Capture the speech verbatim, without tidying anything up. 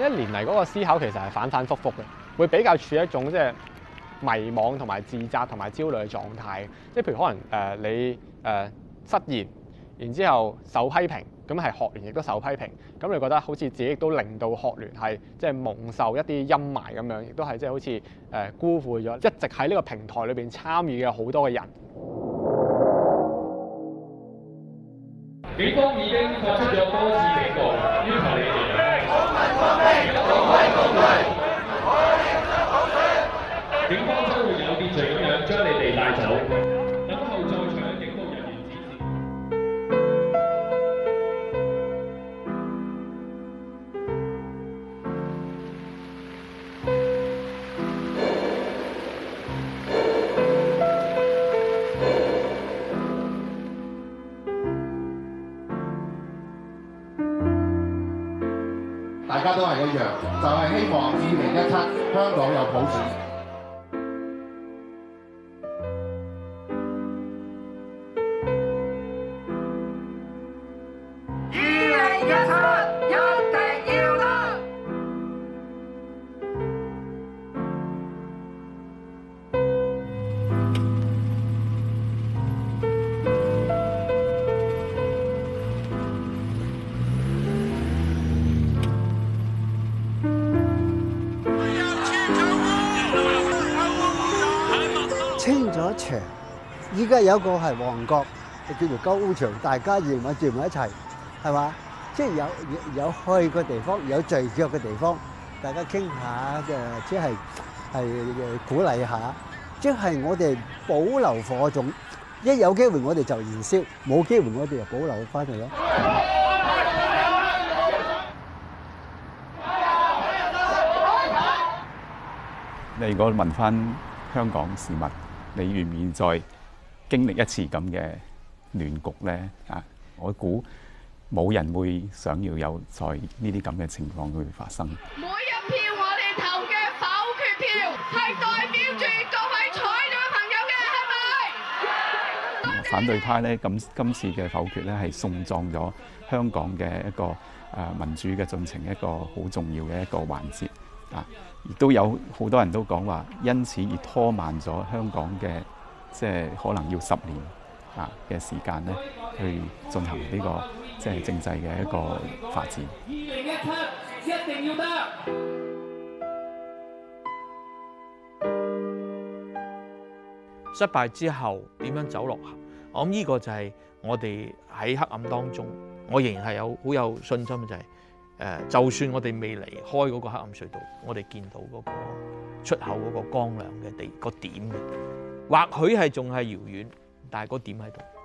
一年嚟嗰個思考其實係反反覆覆嘅，會比較處於一種即係迷惘同埋自責同埋焦慮嘅狀態。即係譬如可能誒、呃、你誒、呃、失言，然之後受批評，咁係學聯亦都受批評，咁你覺得好似自己亦都令到學聯係即係蒙受一啲陰霾咁樣，亦都係即係好似誒、呃、辜負咗一直喺呢個平台裏邊參與嘅好多嘅人。 警方已經發出咗多次警告，要求你哋警方將會有秩序咁樣將你哋帶走，等候在場嘅警務人員指示。 大家都係一樣，就係、是、希望二零一七香港有普選。 二零一七一定要得！ 清咗場，依家有一個係旺角，叫做高場，大家夜晚住埋一齊，係嘛？即係有有去嘅地方，有聚腳嘅地方，大家傾下嘅，即係係鼓勵下，即係我哋保留火種，一有機會我哋就燃燒，冇機會我哋就保留翻嚟咯。 你如果問翻香港市民，你願唔願意再經歷一次咁嘅亂局咧？啊，我估冇人會想要有在呢啲咁嘅情況會發生。 每一票我哋投嘅否決票係代表住各位在座嘅朋友嘅，係咪？ 反對派咧，咁今次嘅否決咧係送葬咗香港嘅一個誒民主嘅進程一個好重要嘅一個環節。啊！亦都有好多人都講話，因此而拖慢咗香港嘅即係可能要十年啊嘅時間咧，去進行呢個即係政制嘅一個發展。二零一七一定要得！ 失敗之後點樣走落行？我諗呢個就係我哋喺黑暗當中，我仍然係有好有信心嘅就係、是。誒，就算我哋未離開嗰個黑暗隧道，我哋見到嗰個出口嗰個光亮嘅地個點嘅，或許係仲係遙遠，但係個點喺度。